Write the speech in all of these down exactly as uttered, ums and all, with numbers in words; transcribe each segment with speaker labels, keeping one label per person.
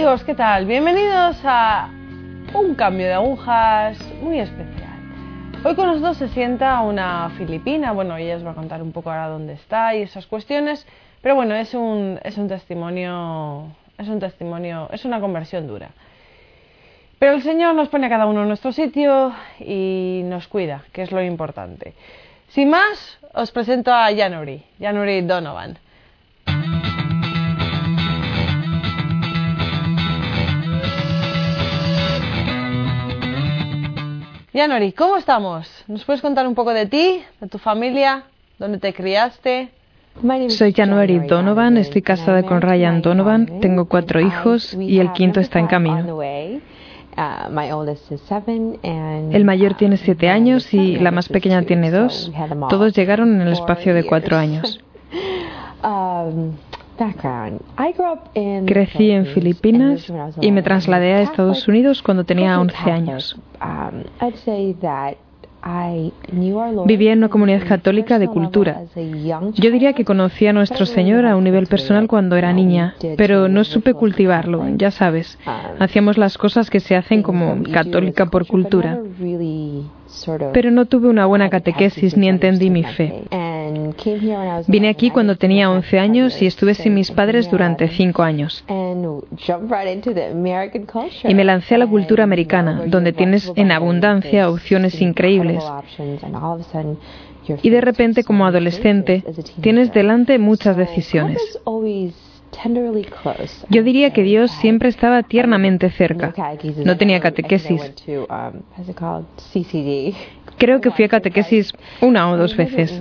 Speaker 1: amigos, ¿qué tal? Bienvenidos a un cambio de agujas muy especial. Hoy con nosotros se sienta una filipina. Bueno, ella os va a contar un poco ahora dónde está y esas cuestiones, pero bueno, es un, es un testimonio, es un testimonio, es una conversión dura. Pero el Señor nos pone a cada uno en nuestro sitio y nos cuida, que es lo importante. Sin más, os presento a January, January Donovan. January, ¿cómo estamos? ¿Nos puedes contar un poco de ti, de tu familia, dónde te criaste?
Speaker 2: Soy January Donovan, estoy casada con Ryan Donovan, tengo cuatro hijos y el quinto está en camino. El mayor tiene siete años y la más pequeña tiene dos. Todos llegaron en el espacio de cuatro años. Crecí en Filipinas y me trasladé a Estados Unidos cuando tenía once años. Vivía en una comunidad católica de cultura. Yo diría que conocí a nuestro Señor a un nivel personal cuando era niña, pero no supe cultivarlo, ya sabes. Hacíamos las cosas que se hacen como católica por cultura. Pero no tuve una buena catequesis ni entendí mi fe. Vine aquí cuando tenía once años y estuve sin mis padres durante cinco años. Y me lancé a la cultura americana, donde tienes en abundancia opciones increíbles. Y de repente, como adolescente, tienes delante muchas decisiones. Yo diría que Dios siempre estaba tiernamente cerca. No tenía catequesis. Creo que fui a catequesis una o dos veces.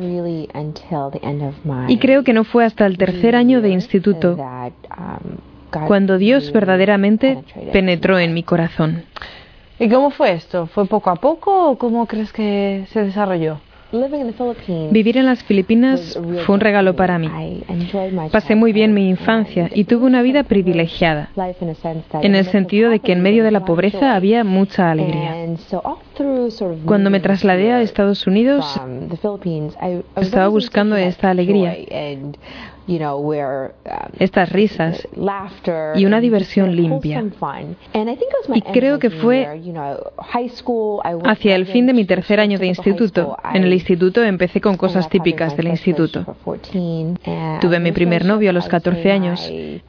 Speaker 2: Y creo que no fue hasta el tercer año de instituto cuando Dios verdaderamente penetró en mi corazón.
Speaker 1: ¿Y cómo fue esto? ¿Fue poco a poco o cómo crees que se desarrolló?
Speaker 2: Vivir en las Filipinas fue un regalo para mí. Pasé muy bien mi infancia y tuve una vida privilegiada, en el sentido de que en medio de la pobreza había mucha alegría. Cuando me trasladé a Estados Unidos, estaba buscando esta alegría, estas risas y una diversión limpia. Y creo que fue hacia el fin de mi tercer año de instituto. En el instituto empecé con cosas típicas del instituto. Tuve mi primer novio a los catorce años.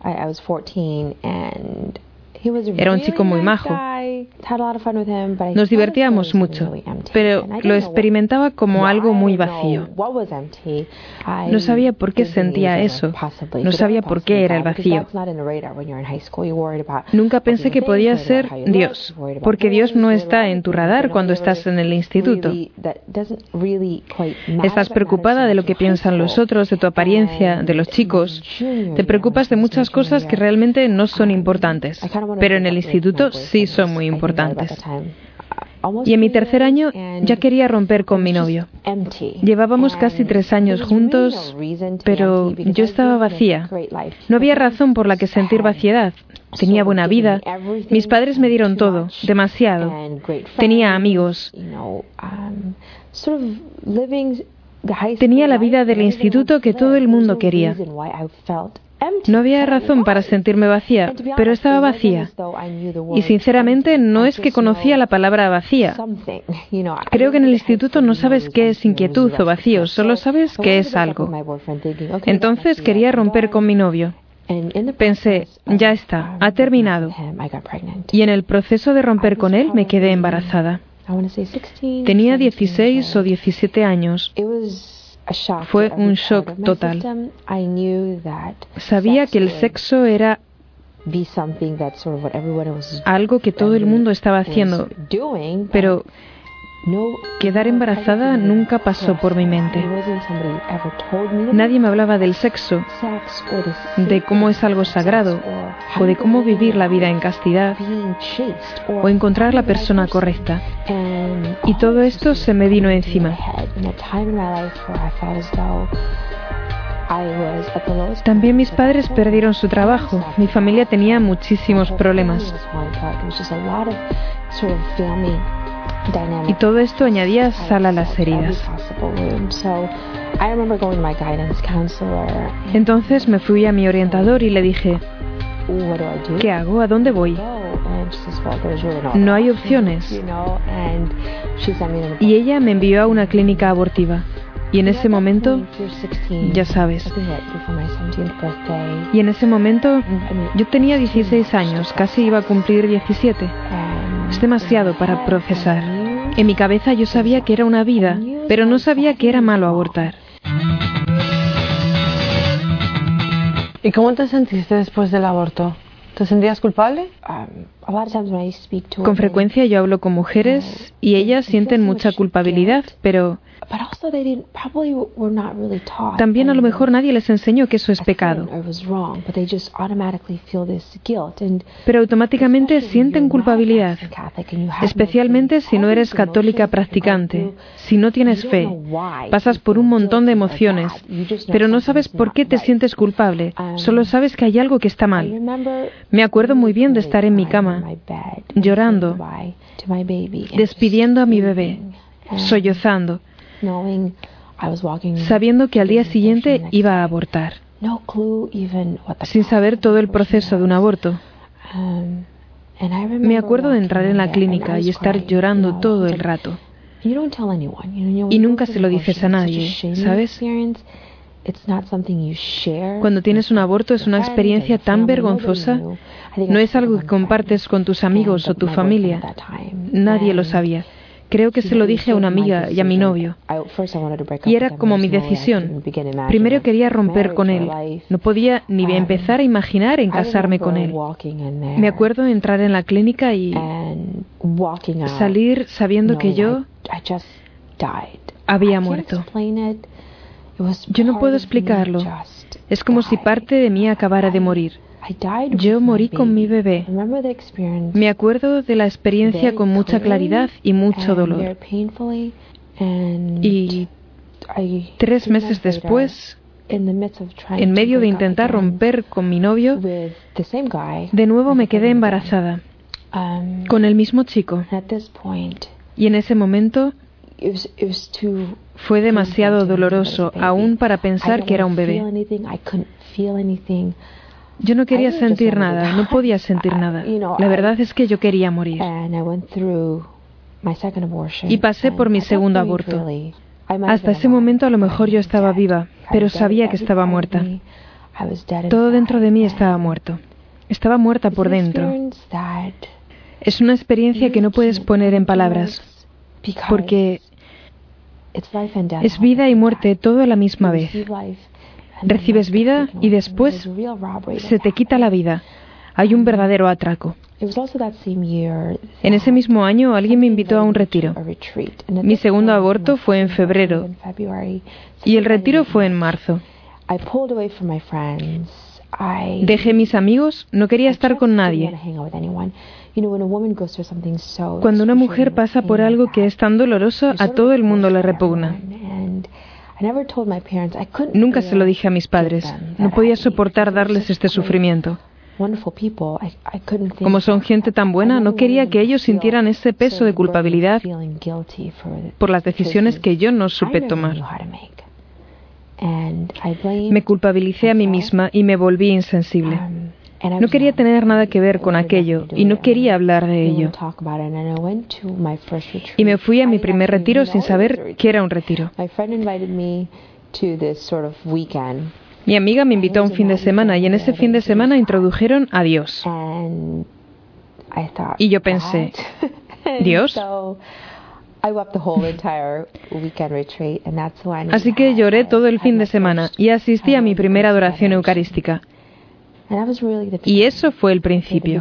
Speaker 2: Era un chico muy majo. Nos divertíamos mucho, pero lo experimentaba como algo muy vacío. No sabía por qué sentía eso. No sabía por qué era el vacío. Nunca pensé que podía ser Dios, porque Dios no está en tu radar cuando estás en el instituto. Estás preocupada de lo que piensan los otros, de tu apariencia, de los chicos. Te preocupas de muchas cosas que realmente no son importantes. Pero en el instituto sí son muy importantes. Y en mi tercer año ya quería romper con mi novio. Llevábamos casi tres años juntos, pero yo estaba vacía. No había razón por la que sentir vaciedad. Tenía buena vida. Mis padres me dieron todo, demasiado. Tenía amigos. Tenía la vida del instituto que todo el mundo quería. No había razón para sentirme vacía, pero estaba vacía. Y sinceramente no es que conocía la palabra vacía. Creo que en el instituto no sabes qué es inquietud o vacío, solo sabes que es algo. Entonces quería romper con mi novio. Pensé, ya está, ha terminado. Y en el proceso de romper con él me quedé embarazada. Tenía dieciséis o diecisiete años. Fue un shock total. Sabía que el sexo era algo que todo el mundo estaba haciendo, pero quedar embarazada nunca pasó por mi mente. Nadie me hablaba del sexo, de cómo es algo sagrado, o de cómo vivir la vida en castidad, o encontrar la persona correcta. Y todo esto se me vino encima. También mis padres perdieron su trabajo. Mi familia tenía muchísimos problemas. Y todo esto añadía sal a las heridas. Entonces me fui a mi orientador y le dije, ¿Qué hago? ¿A dónde voy? No hay opciones. Y ella me envió a una clínica abortiva. Y en ese momento, ya sabes, y en ese momento yo tenía dieciséis años, casi iba a cumplir diecisiete. Es demasiado para procesar. En mi cabeza yo sabía que era una vida, pero no sabía que era malo abortar.
Speaker 1: ¿Y cómo te sentiste después del aborto? ¿Te sentías culpable?
Speaker 2: Con frecuencia yo hablo con mujeres y ellas sienten mucha culpabilidad, pero también a lo mejor nadie les enseñó que eso es pecado. Pero automáticamente sienten culpabilidad, especialmente si no eres católica practicante, si no tienes fe, pasas por un montón de emociones, pero no sabes por qué te sientes culpable, solo sabes que hay algo que está mal. Me acuerdo muy bien de estar en mi cama, llorando, despidiendo a mi bebé, sollozando, sabiendo que al día siguiente iba a abortar, sin saber todo el proceso de un aborto. Me acuerdo de entrar en la clínica y estar llorando todo el rato. Y nunca se lo dices a nadie, ¿sabes? Cuando tienes un aborto es una experiencia tan vergonzosa, no es algo que compartes con tus amigos o tu familia. Nadie lo sabía. Creo que se lo dije a una amiga y a mi novio. Y era como mi decisión. Primero quería romper con él. No podía ni empezar a imaginar en casarme con él. Me acuerdo de entrar en la clínica y salir sabiendo que yo había muerto. Yo no puedo explicarlo. Es como si parte de mí acabara de morir. Yo morí con mi bebé. Me acuerdo de la experiencia con mucha claridad y mucho dolor. Y tres meses después, en medio de intentar romper con mi novio, de nuevo me quedé embarazada con el mismo chico. Y en ese momento fue demasiado doloroso aún para pensar que era un bebé. Yo no quería sentir nada, no podía sentir nada. La verdad es que yo quería morir. Y pasé por mi segundo aborto. Hasta ese momento a lo mejor yo estaba viva, pero sabía que estaba muerta. Todo dentro de mí estaba muerto. Estaba muerta por dentro. Es una experiencia que no puedes poner en palabras, porque es vida y muerte todo a la misma vez. Recibes vida y después se te quita la vida. Hay un verdadero atraco. En ese mismo año alguien me invitó a un retiro. Mi segundo aborto fue en febrero y el retiro fue en marzo. Dejé mis amigos, no quería estar con nadie. Cuando una mujer pasa por algo que es tan doloroso, a todo el mundo le repugna. Nunca se lo dije a mis padres. No podía soportar darles este sufrimiento. Como son gente tan buena, no quería que ellos sintieran ese peso de culpabilidad por las decisiones que yo no supe tomar. Me culpabilicé a mí misma y me volví insensible. No quería tener nada que ver con aquello y no quería hablar de ello. Y me fui a mi primer retiro sin saber que era un retiro. Mi amiga me invitó a un fin de semana y en ese fin de semana introdujeron a Dios. Y yo pensé, ¿Dios? Así que lloré todo el fin de semana y asistí a mi primera adoración eucarística. Y eso fue el principio.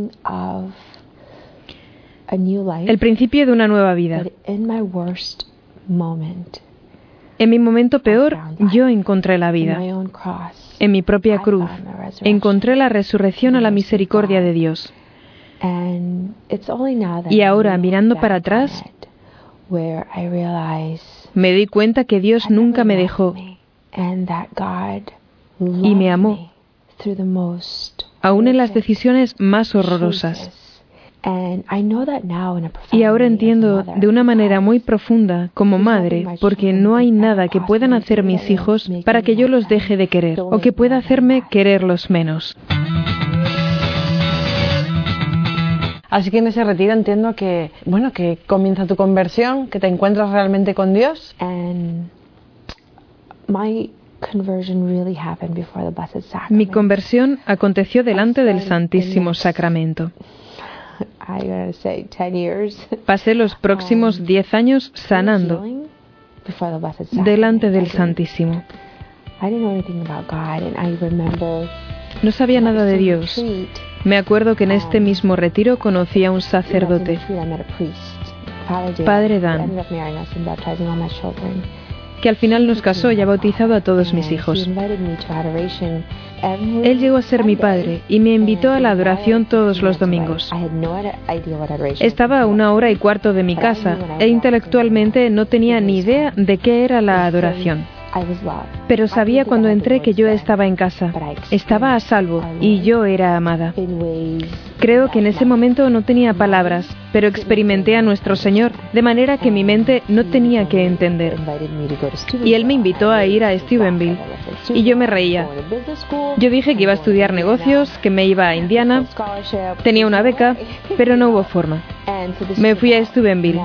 Speaker 2: El principio de una nueva vida. En mi momento peor, yo encontré la vida. En mi propia cruz, encontré la resurrección a la misericordia de Dios. Y ahora, mirando para atrás, me di cuenta que Dios nunca me dejó y me amó, aún en las decisiones más horrorosas. Y ahora entiendo de una manera muy profunda como madre, porque no hay nada que puedan hacer mis hijos para que yo los deje de querer o que pueda hacerme quererlos menos.
Speaker 1: Así que en ese retiro entiendo que, bueno, que comienza tu conversión, que te encuentras realmente con Dios.
Speaker 2: And my Mi conversión aconteció delante del Santísimo Sacramento. Pasé los próximos diez años sanando delante del Santísimo. No sabía nada de Dios. Me acuerdo que en este mismo retiro conocí a un sacerdote, Padre Dan, que al final nos casó y ha bautizado a todos mis hijos. Él llegó a ser mi padre y me invitó a la adoración todos los domingos. Estaba a una hora y cuarto de mi casa e intelectualmente no tenía ni idea de qué era la adoración. Pero sabía cuando entré que yo estaba en casa, estaba a salvo y yo era amada. Creo que en ese momento no tenía palabras, pero experimenté a nuestro Señor, de manera que mi mente no tenía que entender. Y Él me invitó a ir a Steubenville, y yo me reía. Yo dije que iba a estudiar negocios, que me iba a Indiana, tenía una beca, pero no hubo forma. Me fui a Steubenville.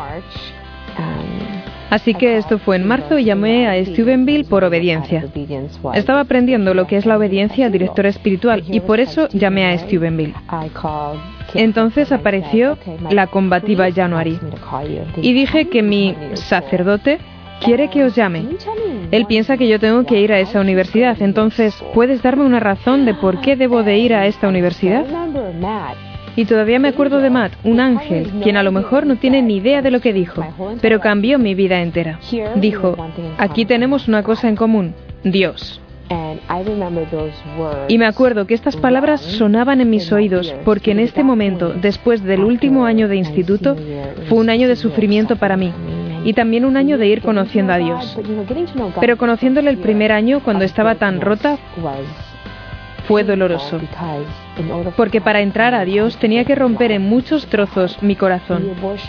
Speaker 2: Así que esto fue en marzo y llamé a Steubenville por obediencia. Estaba aprendiendo lo que es la obediencia al director espiritual y por eso llamé a Steubenville. Entonces apareció la combativa January y dije que mi sacerdote quiere que os llame. Él piensa que yo tengo que ir a esa universidad, entonces ¿puedes darme una razón de por qué debo de ir a esta universidad? Y todavía me acuerdo de Matt, un ángel, quien a lo mejor no tiene ni idea de lo que dijo, pero cambió mi vida entera. Dijo, aquí tenemos una cosa en común, Dios. Y me acuerdo que estas palabras sonaban en mis oídos, porque en este momento, después del último año de instituto, fue un año de sufrimiento para mí, y también un año de ir conociendo a Dios. Pero conociéndole el primer año, cuando estaba tan rota, fue doloroso, porque para entrar a Dios tenía que romper en muchos trozos mi corazón.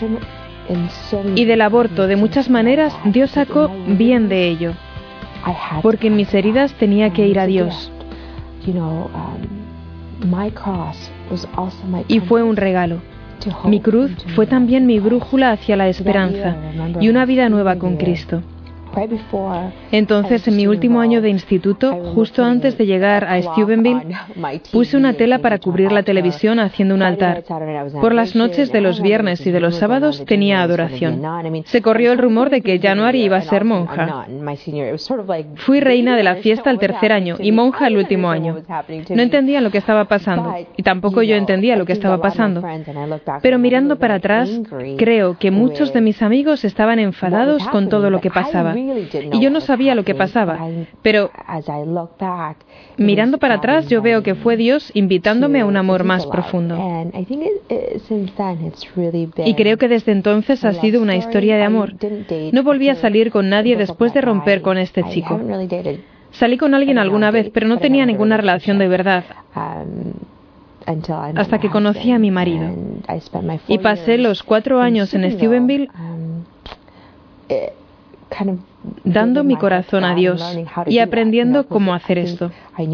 Speaker 2: Y del aborto, de muchas maneras, Dios sacó bien de ello, porque en mis heridas tenía que ir a Dios. Y fue un regalo. Mi cruz fue también mi brújula hacia la esperanza y una vida nueva con Cristo. Entonces, en mi último año de instituto, justo antes de llegar a Steubenville, puse una tela para cubrir la televisión haciendo un altar. Por las noches de los viernes y de los sábados tenía adoración. Se corrió el rumor de que January iba a ser monja. Fui reina de la fiesta el tercer año y monja el último año. No entendía lo que estaba pasando y tampoco yo entendía lo que estaba pasando. Pero mirando para atrás, creo que muchos de mis amigos estaban enfadados con todo lo que pasaba. Y yo no sabía lo que pasaba, pero mirando para atrás yo veo que fue Dios invitándome a un amor más profundo. Y creo que desde entonces ha sido una historia de amor. No volví a salir con nadie después de romper con este chico. Salí con alguien alguna vez, pero no tenía ninguna relación de verdad, hasta que conocí a mi marido. Y pasé los cuatro años en Steubenville dando mi corazón a Dios y aprendiendo cómo hacer esto.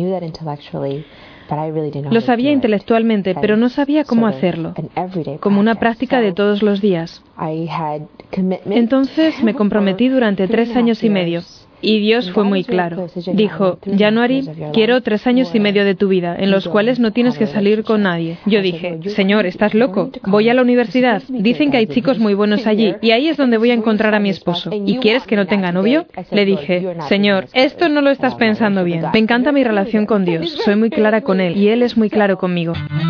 Speaker 2: Lo sabía intelectualmente, pero no sabía cómo hacerlo, como una práctica de todos los días. Entonces me comprometí durante tres años y medio. Y Dios fue muy claro. Dijo, January, quiero tres años y medio de tu vida, en los cuales no tienes que salir con nadie. Yo dije, Señor, ¿estás loco? Voy a la universidad. Dicen que hay chicos muy buenos allí, y ahí es donde voy a encontrar a mi esposo. ¿Y quieres que no tenga novio? Le dije, Señor, esto no lo estás pensando bien. Me encanta mi relación con Dios. Soy muy clara con Él, y Él es muy claro conmigo.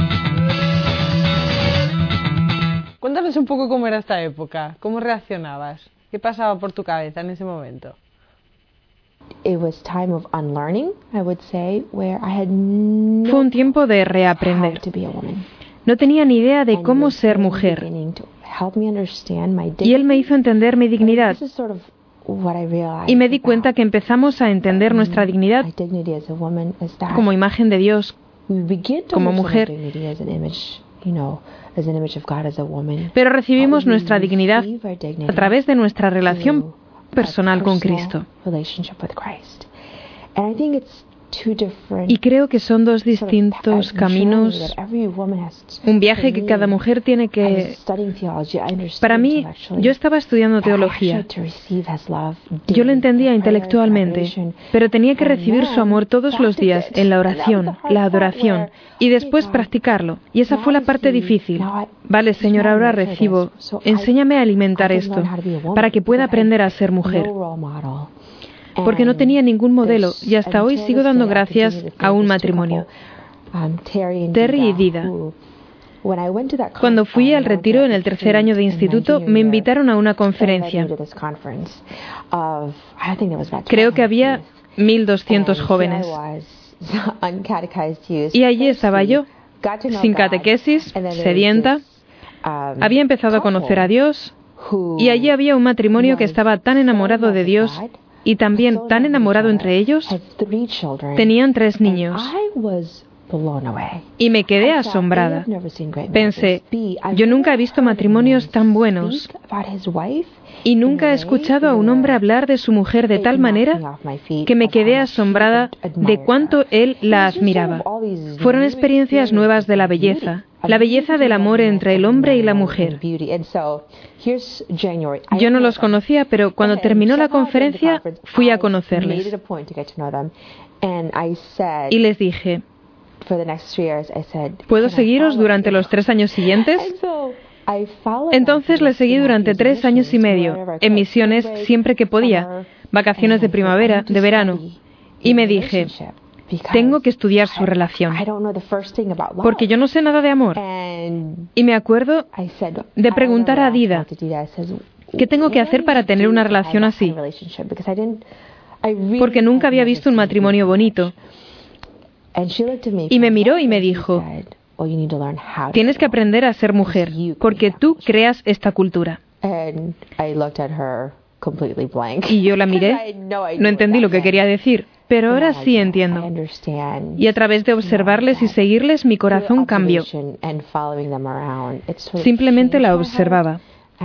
Speaker 1: Cuéntanos un poco cómo era esta época. ¿Cómo reaccionabas? ¿Qué pasaba por tu cabeza en ese momento?
Speaker 2: Fue un tiempo de reaprender. No tenía ni idea de cómo ser mujer. Y Él me hizo entender mi dignidad. Y me di cuenta que empezamos a entender nuestra dignidad como imagen de Dios, como mujer. Pero recibimos nuestra dignidad a través de nuestra relación personal con Cristo. Y creo que son dos distintos caminos, un viaje que cada mujer tiene que... Para mí, yo estaba estudiando teología. Yo lo entendía intelectualmente, pero tenía que recibir su amor todos los días en la oración, la adoración, y después practicarlo. Y esa fue la parte difícil. Vale, Señor, ahora recibo. Enséñame a alimentar esto, para que pueda aprender a ser mujer. Porque no tenía ningún modelo, y hasta hoy sigo dando gracias a un matrimonio, Terry y Dida. Cuando fui al retiro en el tercer año de instituto, me invitaron a una conferencia. Creo que había mil doscientos jóvenes. Y allí estaba yo, sin catequesis, sedienta. Había empezado a conocer a Dios, y allí había un matrimonio que estaba tan enamorado de Dios y también tan enamorado entre ellos. Tenían tres niños. Y me quedé asombrada. Pensé, yo nunca he visto matrimonios tan buenos y nunca he escuchado a un hombre hablar de su mujer de tal manera que me quedé asombrada de cuánto él la admiraba. Fueron experiencias nuevas de la belleza, la belleza del amor entre el hombre y la mujer. Yo no los conocía, pero cuando terminó la conferencia fui a conocerles. Y les dije, ¿puedo seguiros durante los tres años siguientes? Entonces les seguí durante tres años y medio, en misiones siempre que podía, vacaciones de primavera, de verano. Y me dije, tengo que estudiar su relación, porque yo no sé nada de amor. Y me acuerdo de preguntar a Dida, ¿qué tengo que hacer para tener una relación así? Porque nunca había visto un matrimonio bonito. Y me miró y me dijo, tienes que aprender a ser mujer, porque tú creas esta cultura. Y yo la miré, no entendí lo que quería decir, pero ahora sí entiendo. Y a través de observarles y seguirles, mi corazón cambió. Simplemente la observaba.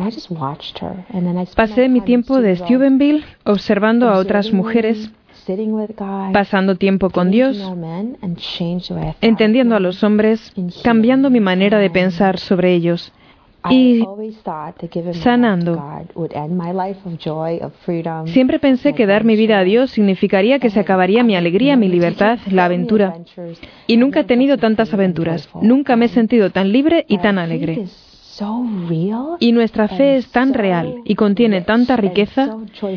Speaker 2: Pasé mi tiempo de Steubenville observando a otras mujeres, pasando tiempo con Dios, entendiendo a los hombres, cambiando mi manera de pensar sobre ellos y sanando. Siempre pensé que dar mi vida a Dios significaría que se acabaría mi alegría, mi libertad, la aventura. Y nunca he tenido tantas aventuras. Nunca me he sentido tan libre y tan alegre. Y nuestra fe es tan real y contiene tanta riqueza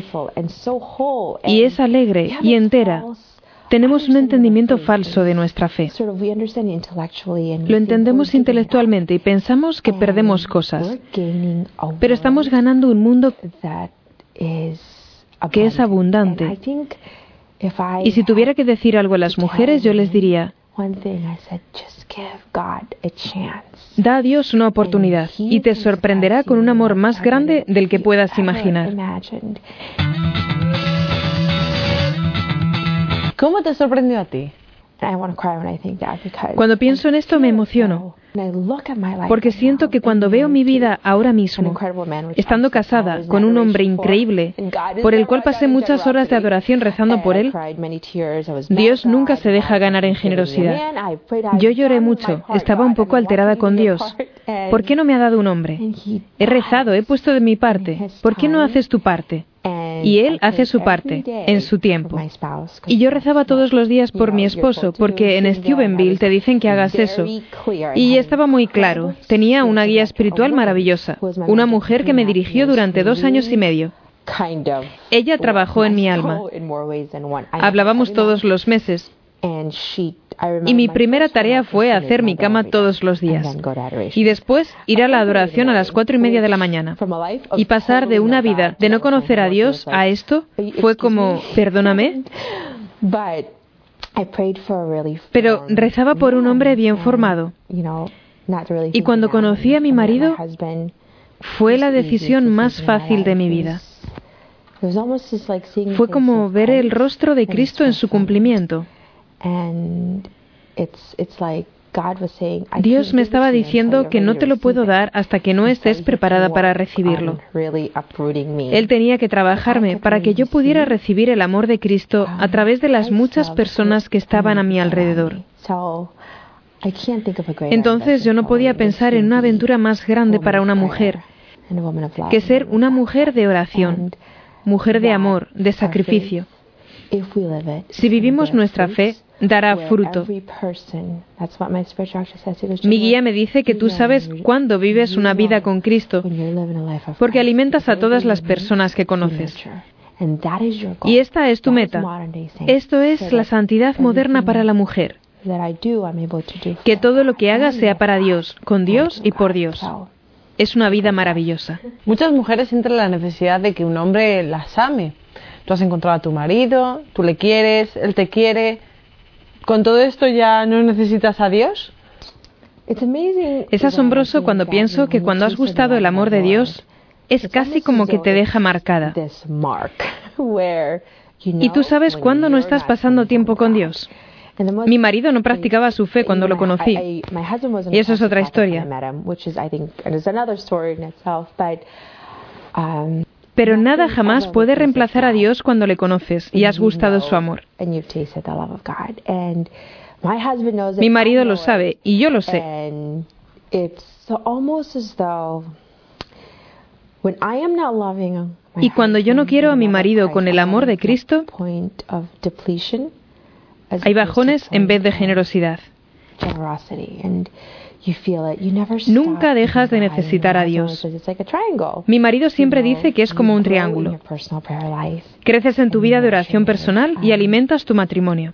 Speaker 2: y es alegre y entera. Tenemos un entendimiento falso de nuestra fe. Lo entendemos intelectualmente y pensamos que perdemos cosas, pero estamos ganando un mundo que es abundante. Y si tuviera que decir algo a las mujeres, yo les diría, da a Dios una oportunidad y te sorprenderá con un amor más grande del que puedas imaginar.
Speaker 1: ¿Cómo te sorprendió a ti?
Speaker 2: Cuando pienso en esto me emociono, porque siento que cuando veo mi vida ahora mismo, estando casada con un hombre increíble, por el cual pasé muchas horas de adoración rezando por él, Dios nunca se deja ganar en generosidad. Yo lloré mucho, estaba un poco alterada con Dios. ¿Por qué no me ha dado un hombre? He rezado, he puesto de mi parte. ¿Por qué no haces tu parte? Y él hace su parte, en su tiempo. Y yo rezaba todos los días por mi esposo, porque en Steubenville te dicen que hagas eso. Y estaba muy claro. Tenía una guía espiritual maravillosa, una mujer que me dirigió durante dos años y medio. Ella trabajó en mi alma. Hablábamos todos los meses. Y mi primera tarea fue hacer mi cama todos los días. Y después ir a la adoración a las cuatro y media de la mañana. Y pasar de una vida de no conocer a Dios a esto fue como, perdóname. Pero rezaba por un hombre bien formado. Y cuando conocí a mi marido, fue la decisión más fácil de mi vida. Fue como ver el rostro de Cristo en su cumplimiento. Dios me estaba diciendo que no te lo puedo dar hasta que no estés preparada para recibirlo. Él tenía que trabajarme para que yo pudiera recibir el amor de Cristo a través de las muchas personas que estaban a mi alrededor. Entonces yo no podía pensar en una aventura más grande para una mujer que ser una mujer de oración, mujer de amor, de sacrificio. Si vivimos nuestra fe, dará fruto. Mi guía me dice que tú sabes cuándo vives una vida con Cristo, porque alimentas a todas las personas que conoces. Y esta es tu meta. Esto es la santidad moderna para la mujer. Que todo lo que haga sea para Dios, con Dios y por Dios. Es una vida maravillosa.
Speaker 1: Muchas mujeres sienten la necesidad de que un hombre las ame. Tú has encontrado a tu marido, tú le quieres, él te quiere. ¿Con todo esto ya no necesitas a Dios?
Speaker 2: Es asombroso cuando pienso que cuando has gustado el amor de Dios, es casi como que te deja marcada. Y tú sabes cuándo no estás pasando tiempo con Dios. Mi marido no practicaba su fe cuando lo conocí, y eso es otra historia. Pero nada jamás puede reemplazar a Dios cuando le conoces y has gustado su amor. Mi marido lo sabe y yo lo sé. Y cuando yo no quiero a mi marido con el amor de Cristo, hay bajones en vez de generosidad. Nunca dejas de necesitar a Dios. Mi marido siempre dice que es como un triángulo. Creces en tu vida de oración personal y alimentas tu matrimonio.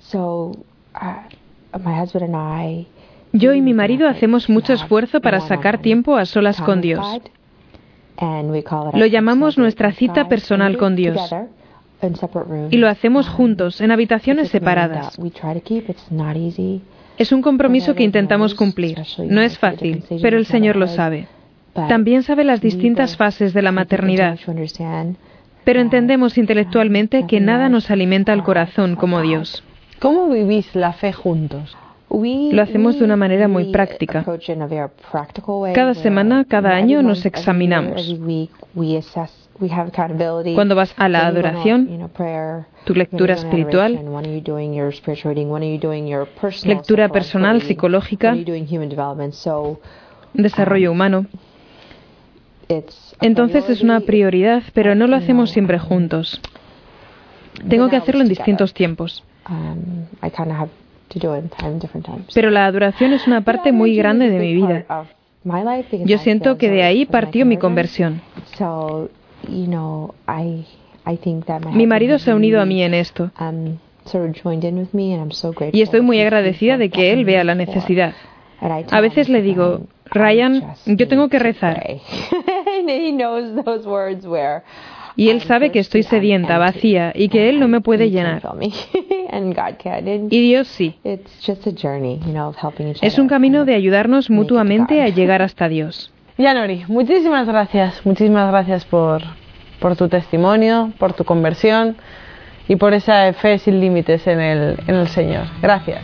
Speaker 2: Yo y mi marido hacemos mucho esfuerzo para sacar tiempo a solas con Dios. Lo llamamos nuestra cita personal con Dios. Y lo hacemos juntos, en habitaciones separadas. Es un compromiso que intentamos cumplir. No es fácil, pero el Señor lo sabe. También sabe las distintas fases de la maternidad. Pero entendemos intelectualmente que nada nos alimenta el corazón como Dios.
Speaker 1: ¿Cómo vivís la fe juntos?
Speaker 2: Lo hacemos de una manera muy práctica. Cada semana, cada año nos examinamos. Cuando vas a la adoración, tu lectura espiritual, lectura personal, psicológica, desarrollo humano. Entonces es una prioridad, pero no lo hacemos siempre juntos. Tengo que hacerlo en distintos tiempos. Pero la adoración es una parte muy grande de mi vida. Yo siento que de ahí partió mi conversión. Mi marido se ha unido a mí en esto. Y estoy muy agradecida de que él vea la necesidad. A veces le digo, Ryan, yo tengo que rezar. Y él sabe que estoy sedienta, vacía, y que él no me puede llenar. Y Dios sí. Es un camino de ayudarnos mutuamente a llegar hasta Dios.
Speaker 1: Yanori, muchísimas gracias. Muchísimas gracias por, por tu testimonio, por tu conversión y por esa fe sin límites en el, en el Señor. Gracias.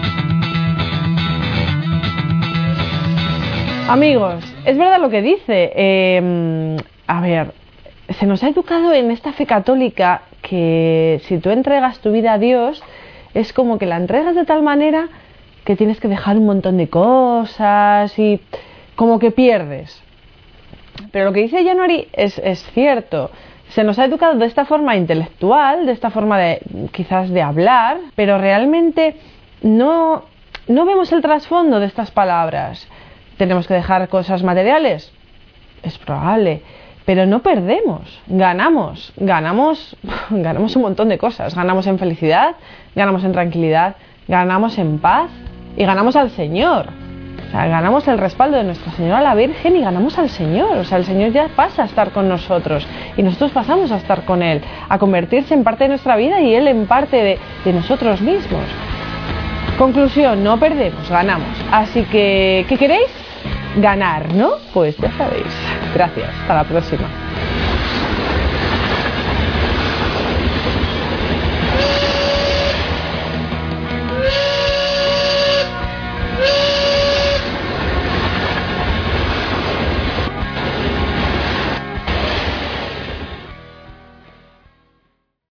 Speaker 1: Amigos, es verdad lo que dice. Eh, a ver, se nos ha educado en esta fe católica que si tú entregas tu vida a Dios, es como que la entregas de tal manera que tienes que dejar un montón de cosas y como que pierdes. Pero lo que dice Yanori es, es cierto. Se nos ha educado de esta forma intelectual, de esta forma de quizás de hablar, pero realmente no, no vemos el trasfondo de estas palabras. ¿Tenemos que dejar cosas materiales? Es probable. Pero no perdemos, ganamos, ganamos, ganamos un montón de cosas. Ganamos en felicidad, ganamos en tranquilidad, ganamos en paz y ganamos al Señor. O sea, ganamos el respaldo de Nuestra Señora la Virgen y ganamos al Señor. O sea, el Señor ya pasa a estar con nosotros y nosotros pasamos a estar con Él, a convertirse en parte de nuestra vida y Él en parte de, de nosotros mismos. Conclusión, no perdemos, ganamos. Así que, ¿qué queréis? Ganar, ¿no? Pues ya sabéis. Gracias, hasta la próxima.